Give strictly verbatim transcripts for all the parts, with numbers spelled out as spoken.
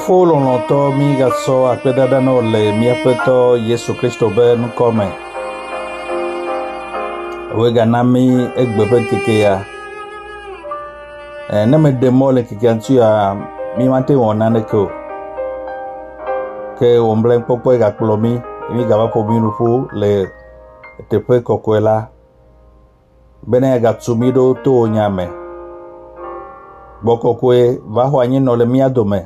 Mifo lɔlɔ̃tɔ mi gasɔ akpedada na le miaƒetɔ Yesu Kristo be nukɔme. Wo gana mi egbe ƒe keke ya. Eh, ne me de mɔ le kekea ŋuti ya mi mate wɔ naneke o. Ke wòmble kpɔkpɔ gakplɔ mi mi gava ƒo mi nuƒo le teƒe kɔkɔe la. Bena gatu mi ɖo to nya me. Gbɔkɔkɔe va xɔ anyi nɔ le mia dome.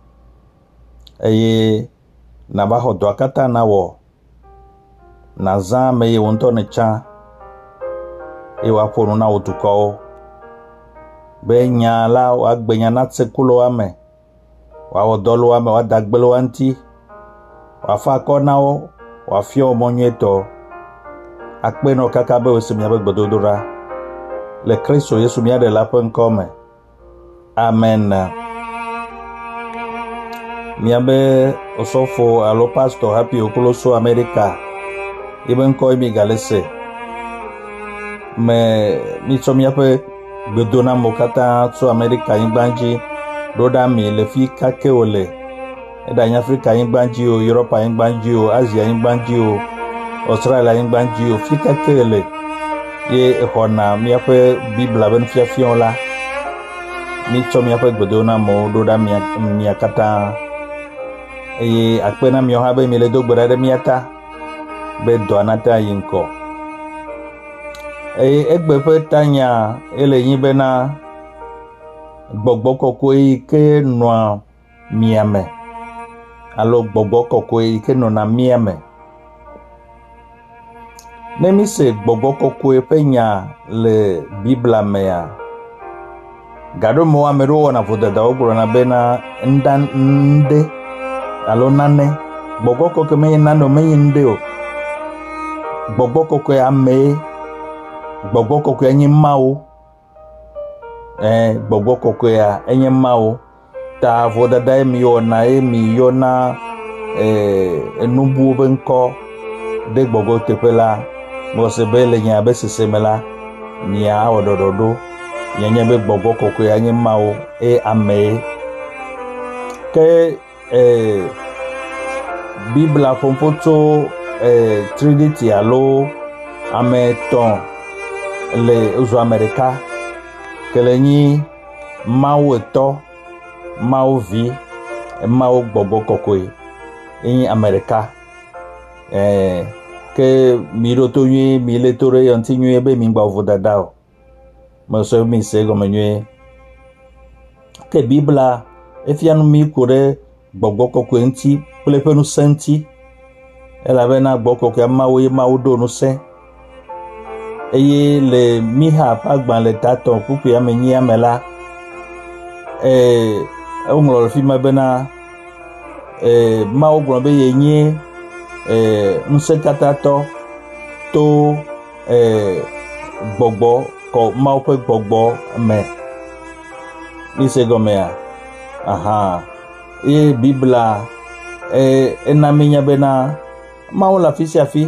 Eye na va xɔ dɔa katã na wɔ. Na zã ame ye wo ŋutɔ ne tsã. Eye woaƒo nu na wo dukɔwo. Be nya la woagbe nya na tsekulo ame. Woawɔ dɔ le wo ame, woada gbe le wo ŋuti. Woafa akɔ na wo, woafia wo mɔ nyuietɔ. Akpe nɔ kaka be wosi miaƒe gbedodoɖa. Le Kristo Yesu mia ɖe la ƒe ŋkɔ me. Amen. Miabe osɔfo alo pastor happy okoloso America. Ibe ŋkɔ mi galese. Me mi tsɔ miaƒe gbedona mo katã tso America nyigba dzi ɖo ɖa mi le fi kake wo le. Eɖa Afrika nyigba dzi o, Europe nyigba dzi o, Asia nyigba dzi o, Australia nyigba dzi o, fi kake le. Ye exɔna miaƒe Bibla be nufiafiawo la. Mi tsɔ miaƒe gbedona mo ɖo ɖa mia mia katã. Eye akpe na miawo hã be mi le do gbe ɖa ɖe mia ta be dɔa nate yi ŋkɔ. Eye egbe ƒe tanya ele nyi bena gbɔgbɔ kɔkɔe yi ke nɔa mia me alo gbɔgbɔ kɔkɔe yi ke nɔna mia me. Ne mi se gbɔgbɔ kɔkɔe ƒe nya le Bibla mea, gaɖo me ame ɖewo wɔna vodadawo gblɔna bena ŋda ŋɖe alo nane. Gbɔgbɔ kɔkɔe menye nane o, menye ŋɖe o. Gbɔgbɔ kɔkɔe amee. Gbɔgbɔ kɔkɔe enye Mawu. Eh, gbɔgbɔ kɔkɔea enye Mawu. Ta vodada ye mi wɔna ye mi yɔna eh enubuwo be ŋkɔ de gbɔgbɔ teƒe la. Mose be le nya be sese me la mia awɔ ɖɔɖɔɖo. Nye be gbɔgbɔ kɔkɔe enye Mawu e amee. Ke eh Bibla ƒoƒo tso eh Trinity alo ame etɔ̃ le uzu ame ɖeka. Ke le nyi Mawu etɔ, Mawu vi, Mawu gbɔgbɔ kɔkɔe. Enyi ame ɖeka. Eh ke mi ɖo to nyuie, mi le to ɖe yɔnti nyuie be mi gba vodada o. Mese mi se gɔme nyuie. Ke Bibla efia nu mi ko ɖe gbɔgbɔ kɔkɔe ŋuti kple ƒe ŋusẽ ŋuti. Elabena gbɔgbɔ kɔkɔe Mawu ye Mawu ɖo ŋusẽ. Eye le Miha ƒe agbalẽ tatɔ kpukpui ame nyi ame la, eh, eŋlɔ le fi me bena eh, Mawu gblɔ be ye nye eh, ŋusẽkatãtɔ to eh, gbɔgbɔ kɔ Mawu ƒe gbɔgbɔ me. Mi se gɔmea? Aha. Eye Bibla eh, ena mi nya bena Mawu le afi sia afi.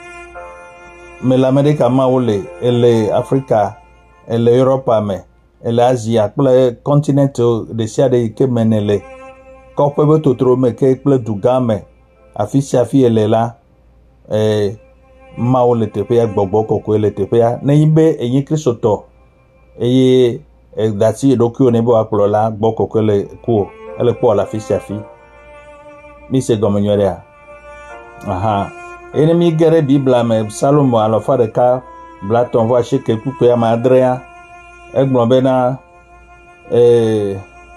Me le Amerika Mawu le, ele Afrika, ele Europa me, ele Asia kple continent de sia de yi ke me ne le. Kɔƒe be totro me ke kple dugã me afi sia afi ele la, eh, Mawu le teƒea, gbɔgbɔ kɔkɔe le teƒea. Ne nyi be enyi Kristotɔ eye dati eɖokuiwo ne be woakplɔ la, gbɔ kɔkɔe le ku ele kpɔ le afi sia afi. Mi se gɔme nyuie ɖea? Aha. Ene mi ge ɖe Bibla me Salomo alɔfa ɖeka blatɔ vɔ asieke kpukpui ame adrea. Egblɔ bena eh,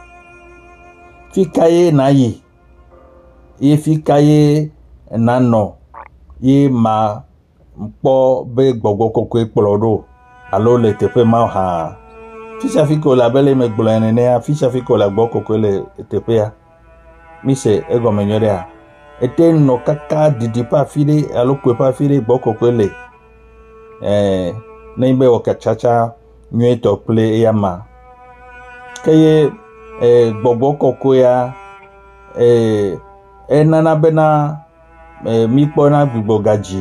fi ka ye na yi ye fi ka ye nanɔ ye ma kpɔ be gbɔgbɔ kɔkɔe kplɔ ɖo alo le teƒe ma hã. Fi sia fi ko le abe le me gblɔ nenea, fi sia fi ko le gbɔ kɔkɔe le teƒea. Mi se egɔme nyuie ɖea? Ete nɔ kaka didi ƒe afi ɖe alo koe ƒe afi ɖe gbɔ kɔkɔe le. Eh, ne be wɔ katsatsa nyuietɔ kple eya ma. Ke ye eh, gbɔgbɔ kɔkɔea eh, enana bena eh, mi kpɔna gbugbɔ gadzi.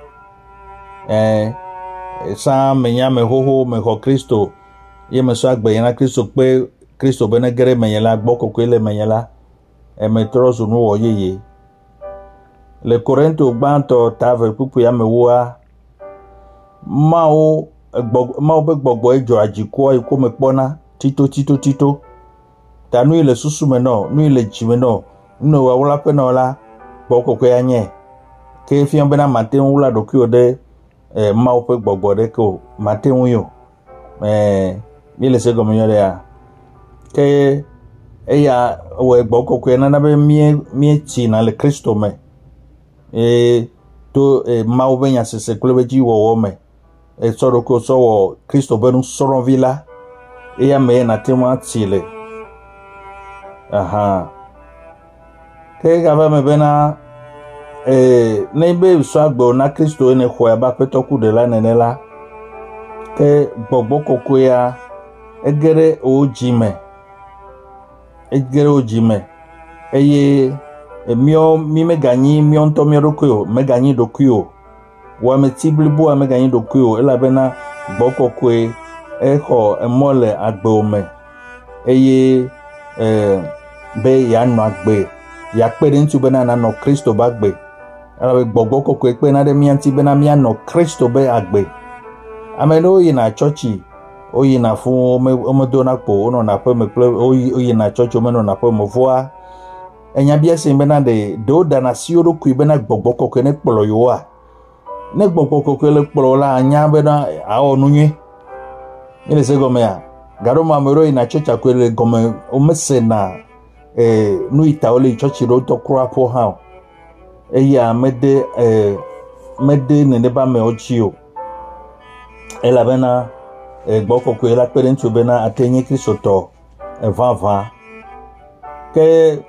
Eh, sa me nya me xoxo me xɔ Kristo ye me sɔ agbe na Kristo kpe Kristo be ne ge ɖe menye la gbɔ kɔkɔe le menye la. e me trɔ zu nu wɔ yeye le Korinto gbãtɔ ta ve kpukpu ya me woa mawo mawo be gbɔgbɔ edzɔ adzikɔ iko me kpɔna tito tito tito ta nu le susu me no nu le dzi me no nu wa wla pe no la gbɔkɔkɔ ya nye ke fia bena mate wla ɖokuiwo ɖe e mawo ƒe gbɔgbɔ ɖe ko mate ŋu yo eh mi le se gɔme nyɔ ya ke eya wɔ gbɔkɔkɔ nana be mie mie tsi na le Kristo me e to e mawo be nya sese kple be dzi wɔwɔ me e sɔ ɖoko sɔ wɔ Kristo be nusrɔ̃vi la eya me na te ŋu atsi le aha ke gava me bena eh ne be so agbo na Kristo ne xɔ ba petɔ ku de la nene la ke gbɔgbɔ kɔkɔe ya egere o dzime egere o dzime eye emio mi me ganyi mio ntɔ mio ɖokui o me ganyi ɖokui o wɔameti blibo a me ganyi ɖokui o elabena gbɔ kɔkɔe exɔ emɔ le agbewo me eye eh be ya nɔ agbe ya kpe ɖe ŋuti bena nanɔ Kristo be agbe elabe gbɔgbɔ kɔkɔe kpe na ɖe mia ŋuti bena mianɔ Kristo be agbe ame ɖewo yina tsɔtsi woyina fu womedona kpo wonɔna aƒe me kple woyina tsɔtsi womenɔna aƒe me vɔa enya bia se bena ɖe ɖewo ɖana asi wo ɖokui bena gbɔgbɔ kɔkɔe ne kplɔ yewoa ne gbɔgbɔ kɔkɔe le kplɔ la anya bena awɔ nu nyuie mi le se gɔmea gaɖo me ame ɖewo yina tsɔtsi akɔe le gɔme womesena eh nu ita wole tsɔtsi ɖewo tɔ kura ƒo hã o eya mede eh mede nene ba me dzi o elabena gbɔ kɔkɔe la kpe ɖe ŋuti bena ate nye kristotɔ vavã ke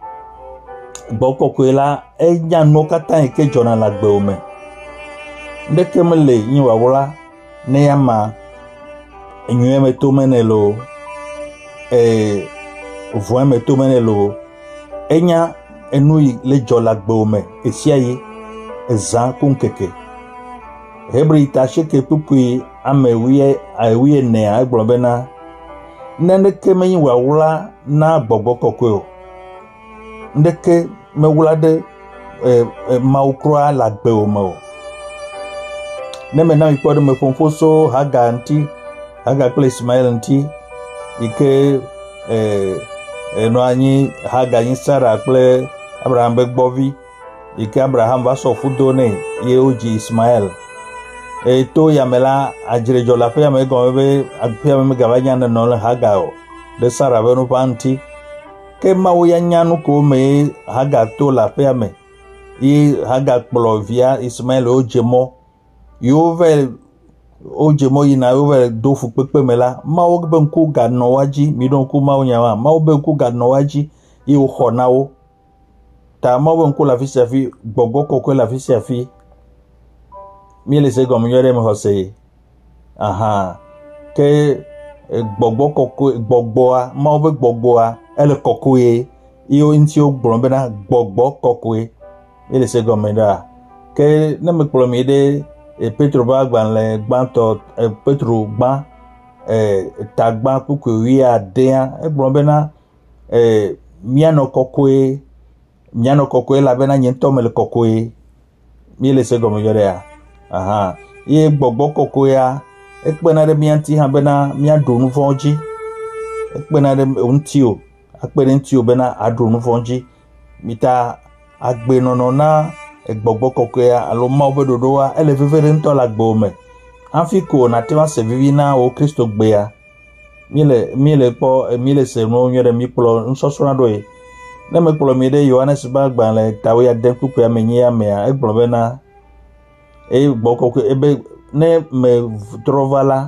gbɔ kɔkɔe la enya nuwo katã yi ke dzɔna le agbewo me ndeke mele yi wawla ne ya ma enyuie me to mene lo eh vɔe me to mene lo enya enu yi le dzɔ le agbewo me esia yi ezã ku nkeke Hebri ta sheke kpukpui ame wie awie ne agblɔ bena neneke menyi wawla na gbɔgbɔ kɔkɔe o ndeke mewla ɖe e mawu kura le agbewo me o ne me na mi kpɔ ɖe me ƒomƒo so Haga ŋuti Haga kple Ismael ŋuti yi ke eh enɔ anyi Haga nyi Sara kple Abraham be gbɔvi yi ke Abraham va sɔ fudo nɛ ye wodzi Ismael e to yame la adzredzɔ le aƒea me gɔme be aƒea me megava nya nenɔ le Haga o ɖe Sara be nuƒa ŋuti ke Mawu ya nya nu ko me Haga to le aƒea me ye Haga kplɔ via Ismael wodze mɔ yewo ve wodze mɔ yina yewo ve do fukpekpe me la Mawu be ŋku ganɔ wa dzi mi ɖo ŋku Mawu nya wa Mawu be ŋku ganɔ wa dzi ye woxɔ na wo ta Mawu be ŋku le afi sia afi gbɔgbɔ kɔkɔe le afi sia afi mi le se gɔme nyɔ ɖe me xɔ se aha ke gbɔgbɔ kɔkɔe gbɔgbɔa Mawu be gbɔgbɔa ele kɔkɔe ye wo ŋuti wogblɔ bena gbɔgbɔ kɔkɔe mi le se gɔme ɖa ke ne me kplɔ mi ɖe Petro be agbalẽ gbãtɔ Petro gbã tagbã kpukpui wuiadea egblɔ bena mianɔ kɔkɔe mianɔ kɔkɔe elabena nye ŋutɔ mele kɔkɔe mi le se gɔme nyɔ ɖea aha ye gbɔgbɔ kɔkɔea ekpena ɖe mia ŋuti hã bena miaɖu nu vɔ̃wo dzi ekpena ɖe ŋuti o akpe ɖe ŋuti o bena aɖu nu vɔ̃wo dzi mita agbenɔnɔ na gbɔgbɔ kɔkɔea alo Mawu be ɖoɖoa ele veve ɖe ŋutɔ le agbewo me hafi ko nate va se vivi na wo Kristo gbea mi le mi le kpɔ mi le se nuwo nyuie ɖe mi kplɔ nusɔsrɔ̃ ɖo ye ne me kplɔ mi ɖe Yohanes be agbalẽ ta wuiade kpukpui ame enyi amea egblɔ bena eye gbɔ kɔkɔe ebe ne me trɔ va la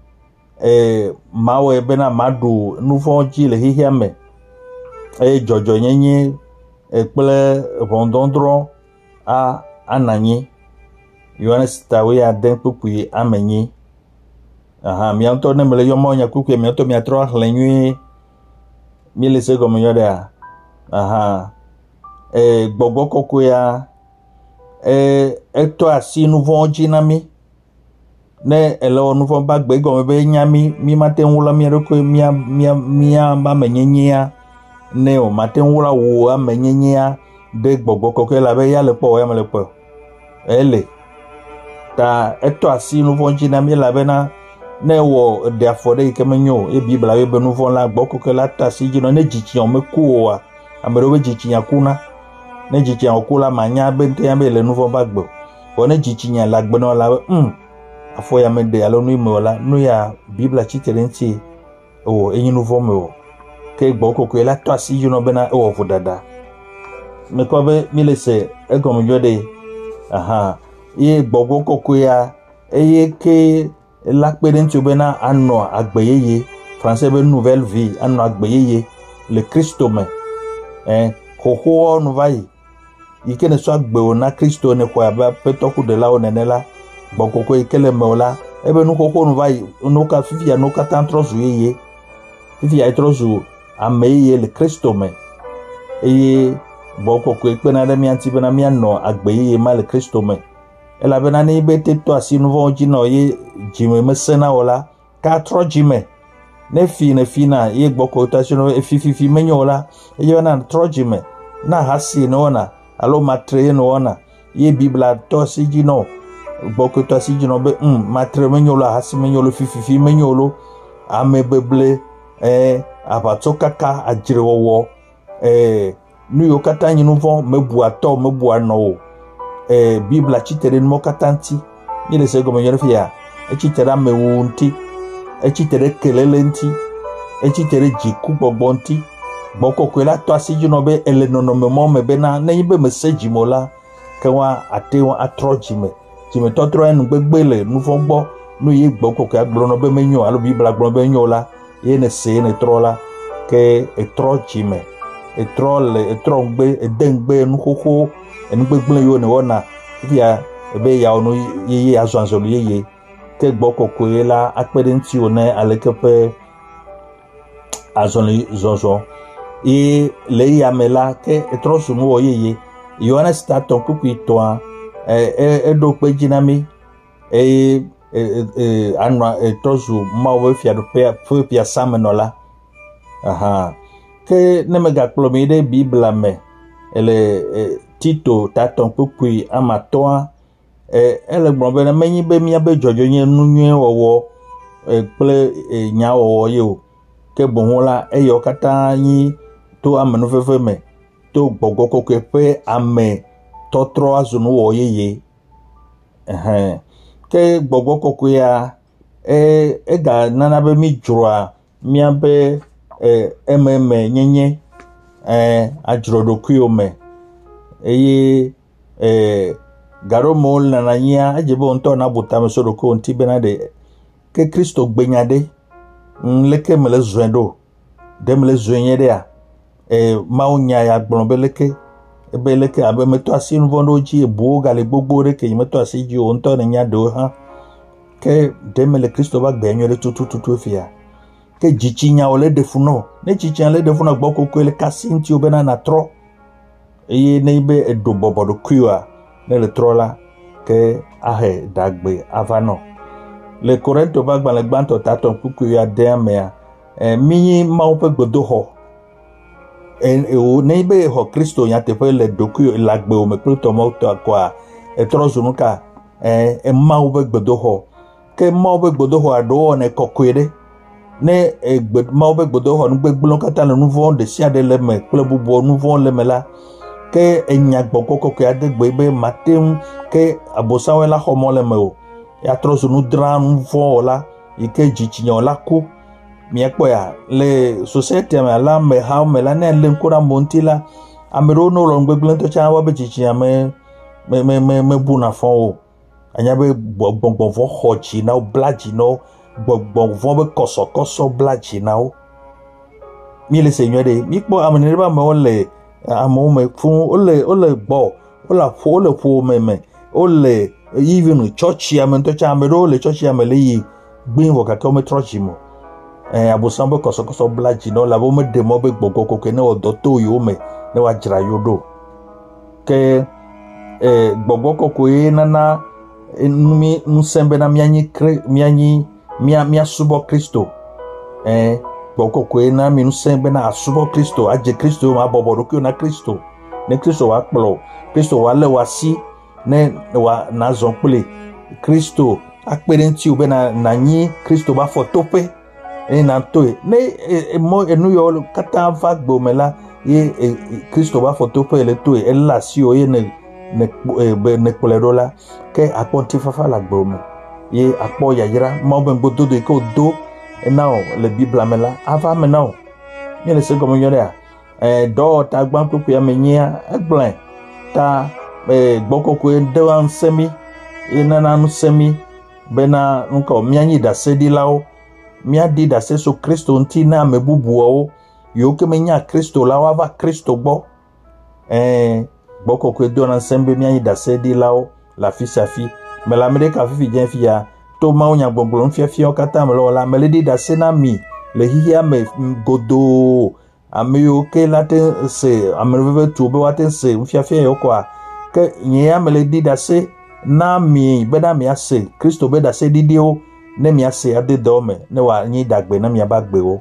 eh Mawu bena maɖu nu vɔ̃wo dzi le xexea me eye dzɔdzɔnyenye kple ʋɔnudɔdrɔ̃ a ananyi Yohanes ta wuiade kpukpui ame enyi aha mia ŋutɔ ne me le yɔmɔ nya kpukpui mia ŋutɔ miatrɔ axlẽ nyuie mi le se gɔme nyɔ ɖea aha eh gbɔgbɔ kɔkɔea eh etɔ asi nu vɔ̃wo dzi na mi ne ele wɔ nu vɔ̃ ba gbe gɔme be nya mi mi mate ŋu wla mia ɖokui mia mia mia ba me nyenyea ne o mate wura wo amenyenya de gbogbo koko la be ya le po ya me le po ele ta eto asi nu fo nji na mi la be na ne wo de afode ke menyo e bibla be nu fo la gboko koko la ta si ji no ne jichi o me ku wa amero be jichi nya kuna ne jichi nya ku la manya be nte ya be le nu fo ba gbo o ne jichi nya la gbo no la mm afo ya me de alo nu imo la nu ya bibla chitere nti o enyi nu fo me o ke gboko koko la ta si ji no be na e wo fu dada me ko be mi le se e ko mo jode aha ye gbogbo koko ya eye ke la pere nti obena anno agbeyeye français be nouvelle vie anno agbeyeye le Christo me eh hoho no vai ike ne so agbe na Christo ne kwa ba petoku de la onenela gbogbo koko ikele me ola ebe nu hoho no vai no ka fifi ya no ka tantrozu yeye fifi ya trozu ameye le Christo me eye gbogbo koko ipe na de mi anti be na mi anno agbeyeye ma le Christo me ela bena ni bete to asi no von jino ye jime mesena ola ka tro jime ne fi ne fi na ye gboko tasino e fi fi fi menyola e ye na tro jime na hasi no na alo matre no ona ye bibla to si jino gboko to si jino be um matre menyola hasi menyolo fi fi fi menyolo amebeble eh abatoka ka ajirewo eh nu yo kata nyinu von mebu ato mebu ano eh bibla chitere mo katanti ni le sego menyo fia e chitera mewunti e chitere kelelenti e chitere jiku bogbonti boko kwela to asiju no be ele no no memo me be na na yibe message mola kenwa atewa atrojime jime totro enu gbegbele nu fo gbo nu ye gboko ka gboro no be menyo alo bibla gboro be nyola ye ne se ne trola ke e trojime e trolle e trongbe e dengbe nu koko en gbegbele yo ne wona via ebe ya onu yeye azwanzolu yeye ke gboko ko la akpede nti one alekepe azonli zonzo e le ya mela ke etrosu mu yeye yona staton pupi to e e do pe jinami e e anwa etrosu mawo fia do pe pia samenola aha ke nemega plomide bibla me ele Tito taton pupui amatoa eh ele gbonbe na menyi be mia be jojo yen nunwe wowo eh ple eh, nya wowo yo ke bonhola eyo kata yin to amenu fefe me to gbogo koke pe ame totro azunu wo yeye eh ke gbogo koke ya eh e ga nana be mi jura mia be eh ememe nyenye eh ajrodo kuyo eye eh garo mol na nanya ajebo nto na butame so ko nti benade ke Kristo gbenyade nleke mele zwendo dem le zwenye a eh maunya ya gbonbeleke ebeleke abe meto asin vondo ji ebu gale gbogbo re ke meto asiji o nto na nya do ha ke dem le Kristo ba gbenyore tutu tutu fia ke jichinya ole defuno ne jichinya le defuno gboko ko le kasinti obena na tro eye neibe edo bobodo kuwa ne le trola ke ahe dagbe avano le Korento bagba le gbanto taton kuku ya demea e mi ma ope gbodo ho e o neibe ho Kristo ya te pe le doku lagbe o me pluto mo to akwa e trozu nuka e e ma ope gbodo ho ke ma ope gbodo ho ado ne kokwere ne e gbed ma ope gbodo ho ngbe gbulon kata le nouveau de sia de le me ple bubo nouveau le me la ke enya gboko ko ke adegbe be matem ke abosawe la homo le me o ya trosu nu dran fo la ike jichinyo la ku mi ekpo ya le society me la me ha me la ne le nkura montila amero no lo ngbegblen to cha wa be jichinya me me me me buna fo o anya be gbogbon fo hochi na o blaji no gbogbon fo be koso koso blaji na o mi le seigneur de mi po amene ba me o le amo me fun ole ole gbo ola fo ole fo me me ole even church ya me to cha me ole church ya me le yi gbin wo ka ko me church mo eh abosambo koso koso blaji no la bo me de mo be gbogo ko ke ne odo to yo me ne wa jira yodo ke eh gbogo ko ko e nana mi nsembe na mianyi mianyi mia mia subo Kristo eh gboko kwe na mi nusen be na asubo Kristo aje Kristo ma bobo rokio na Kristo ne Kristo wa kplo Kristo wa le wa si ne wa na zon pele Kristo akpere nti ube na na nyi Kristo ba fo tope e na toe ne e mo enu yo kata va gbo mela ye Kristo ba fo tope le toe e la si o ye ne ne ne kpolero la ke aponti fafa la gbo me ye apo yayira mo ben gbodo de ko do e na o le Bible amela ava me na o ni le se gomo yore a eh do ta gban popo ya menyia egblem ta eh gbokoko e de wan semi e na na nu semi bena nko mianyi da se di lao mia di da se so Kristo nti na mebubu o yo ke menya Kristo lao ava Kristo gbo eh gbokoko e do na sembe mianyi da se di lao la fi sa fi me la mede ka fi jen fi ya to ma onya gbogbo nfia fi o kata me lo la me le di da se na mi le hiya me godo ameyo ke late se amreve tu be waten se nfia fi yo kwa ke nya me le di da se na mi be na mi ase Kristo be da se didi o ne mi ase ade do me ne wa nyi dagbe na mi abagbe o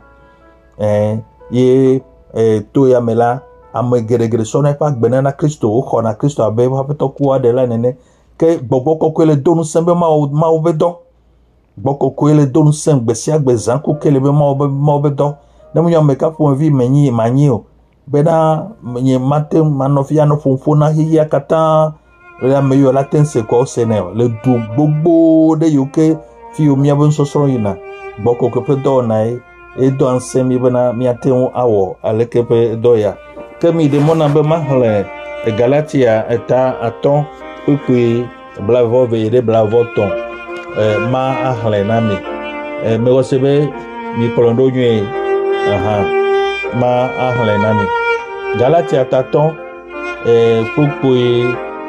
eh ye eh to ya me la ame geregere so na pa gbe na Kristo o kho na Kristo abe ha to ku ade la nene ke gbogbo kokko le donu sembe ma o ma o be do gbogbo kokko le donu sembe si agbe zan ku kele be ma o be ma o be do na mu nyam me ka fo vi menyi manyi o be na nye mate manofia no fonfo na hiya kata le ameyo la tense ko sene le du gbogbo de yoke fi o mi abon so soro yina gbogbo kokko do na e do ansemi be na mi aten awo alekepe do ya kemi de mona be mahle e Galatia eta aton puis blavo veire blavo ton eh ma ahle na mi eh me wasebe mi polondo nyi aha ma ahle na mi Galatia taton eh puis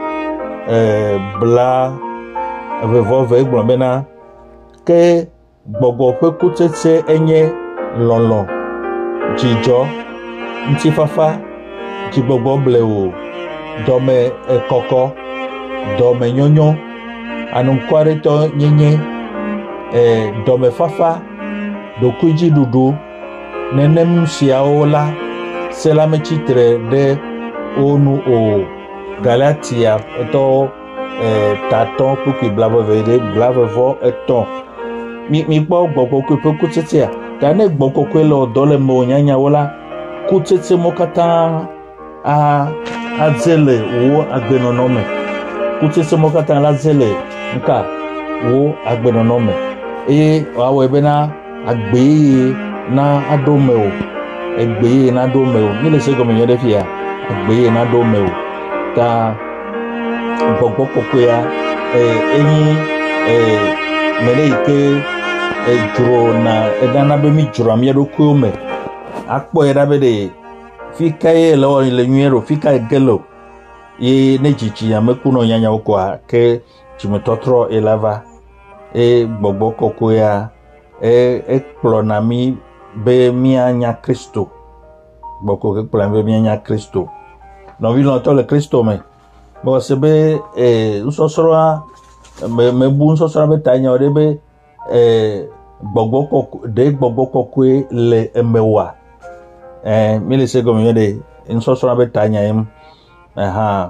eh bla vevo ve gbona ke gbogbo pe kutete enye lolo jijo nti fafa ti gbogbo blewo dome e koko dome nyonyo anunkware to nyenye eh dome fafa dokuji dudu nenem siaola sela mechitre de onu o Galatia to eh taton puki blavo vede blavo vo eton mi mi gbo gbogbo ko pe kutete a ta ne gbogbo ko lo dole mo nyanya wala kutete mo kata a azele wo agbenonome kutete mo kata la zele nka wo agbenonome e awo ebe na agbe na adome o egbe na adome o ni le se go me yode fia agbe na adome o ta gbogbo koko ya eh enyi eh mele ike e juro na edana be mi juro am yedo ko me akpo era be de fika ye lo le nyero fika gelo ye ne chichi ya mekuno nyanya okwa ke chimetotro elava e gbogbo koko ya e ekplona mi be mi anya Kristo gbogbo ke plan be mi anya Kristo no vi lo to le Kristo me bo se be e usosoro me me bu usosoro be tanya ode be e gbogbo koko de gbogbo koko le emewa eh mili se gomi yode insosoro be tanya em aha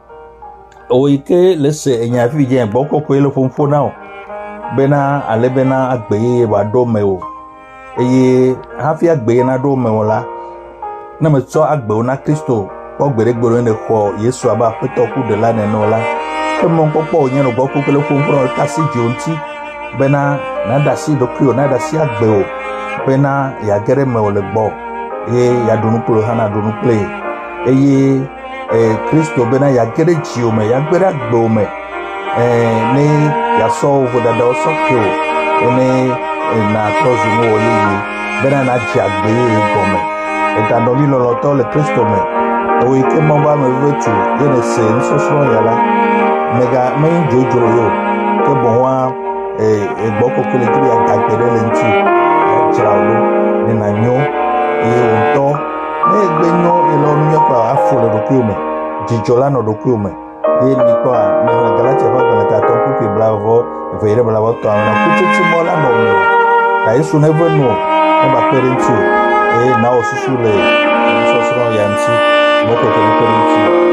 o ike lese enya fi je gbogbo koko le fonfo now bena ale bena agbe wa do me o eye hafi agbe na do me wala na me so agbe na Kristo o gbere gboro ne ko Yesu aba peto ku de la ne no la ke mo popo yen no gbogbo koko le fonfo ka si jonti bena na da si do krio na da si agbe o bena ya gere me o le gbo ye ya dunu pulo hana dunu play eye eh Kristo bena ya gere ji o me ya gbere agbe o me eh ni ya so vo da do so kyo ene na tozu mo yi bena na ji agbe go me e ta do mi lo lo to le Kristo me o ike mo ba me vetu ye ne se nso so ya la mega me jojo yo ke bo wa eh e gboko kele ti ya dagbere le nti e jira wo ni na nyo e onto ne gbe nyo e lo nyo pa afo le do kume jijola no do kume ye ni kwa na Galatia ba na ta to ku blavo veire blavo to na ku ti mo la no ka Yesu ne vo no ne ba kperentu e na osusu le sosro yanti mo ko ko kperentu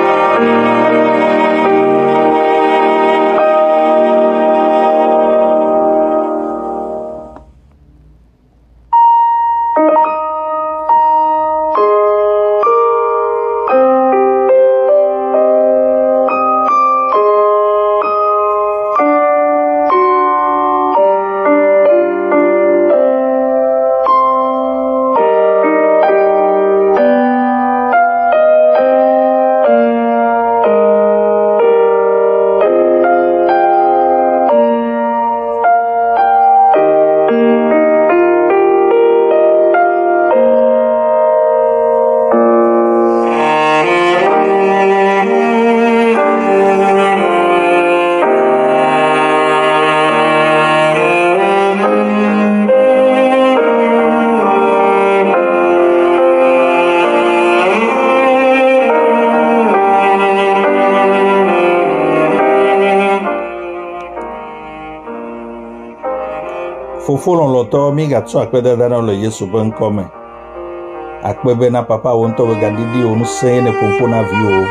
Fofolo loto mi gatso akpede dana le Yesu ben come akpebe na papa wonto be gadidi onu se ne pompo na vio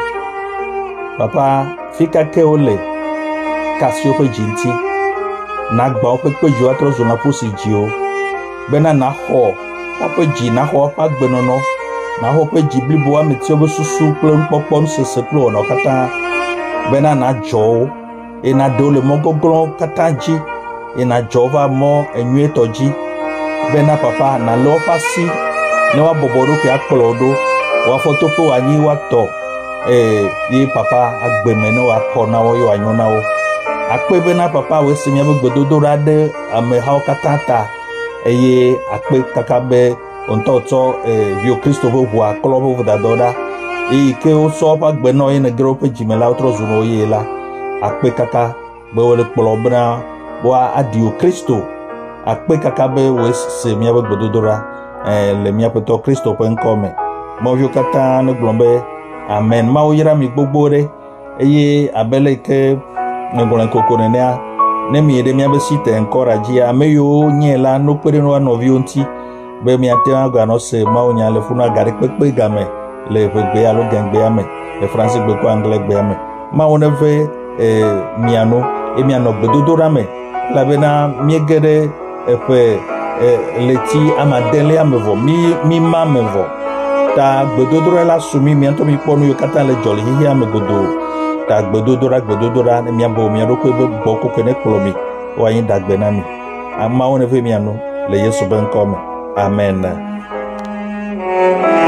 papa fika ke ole kasio pe jinti na gba o pe peju atro zo na posi jio bena na ho o pe ji na ho pa gbenono na ho pe ji blibo ameti obo susu plon popon sese plo no kata bena na jo e na dole mogogro kata ji ina jova mo enwe toji bena papa na lo pasi ne wa boboro ke akolodo wa fotopo anyi wa to eh yi papa agbeme ne wa kona wo yo anyona wo akpe bena papa we simia be gbododo rade ame ha katata eye akpe kakabe ontoto eh bio Kristo bo wa kolobo vo dadoda e ke o so pa gbeno ina grope jimela otro zuno yela akpe kaka be wole kpolobna wa adio Kristo akpe kakabe wes se mia be gbododora eh le mia peto Kristo pen come mo vio kata ne glombe amen ma o yira mi gbogbore eye abele ke ne golen kokone ne ne mi de mia be site encourage ya meyo nyela no pere no no vionti be mi ate agwa no se ma o nya le funa gari pepe game le pepe alo gangbe ame e français gbe ko anglais gbe ame ma o ne ve eh miano e miano gbododora me la bena miegere epe leti amadele amevo mi mi mamevo ta gbedodora la sumi mi anto mi ponu yo kata le joli hi amegodo ta gbedodora gbedodora mi abo mi ro ko be boko kene klomi wa yin dagbe na mi ama won ve mi anu le Yesu ben come amen.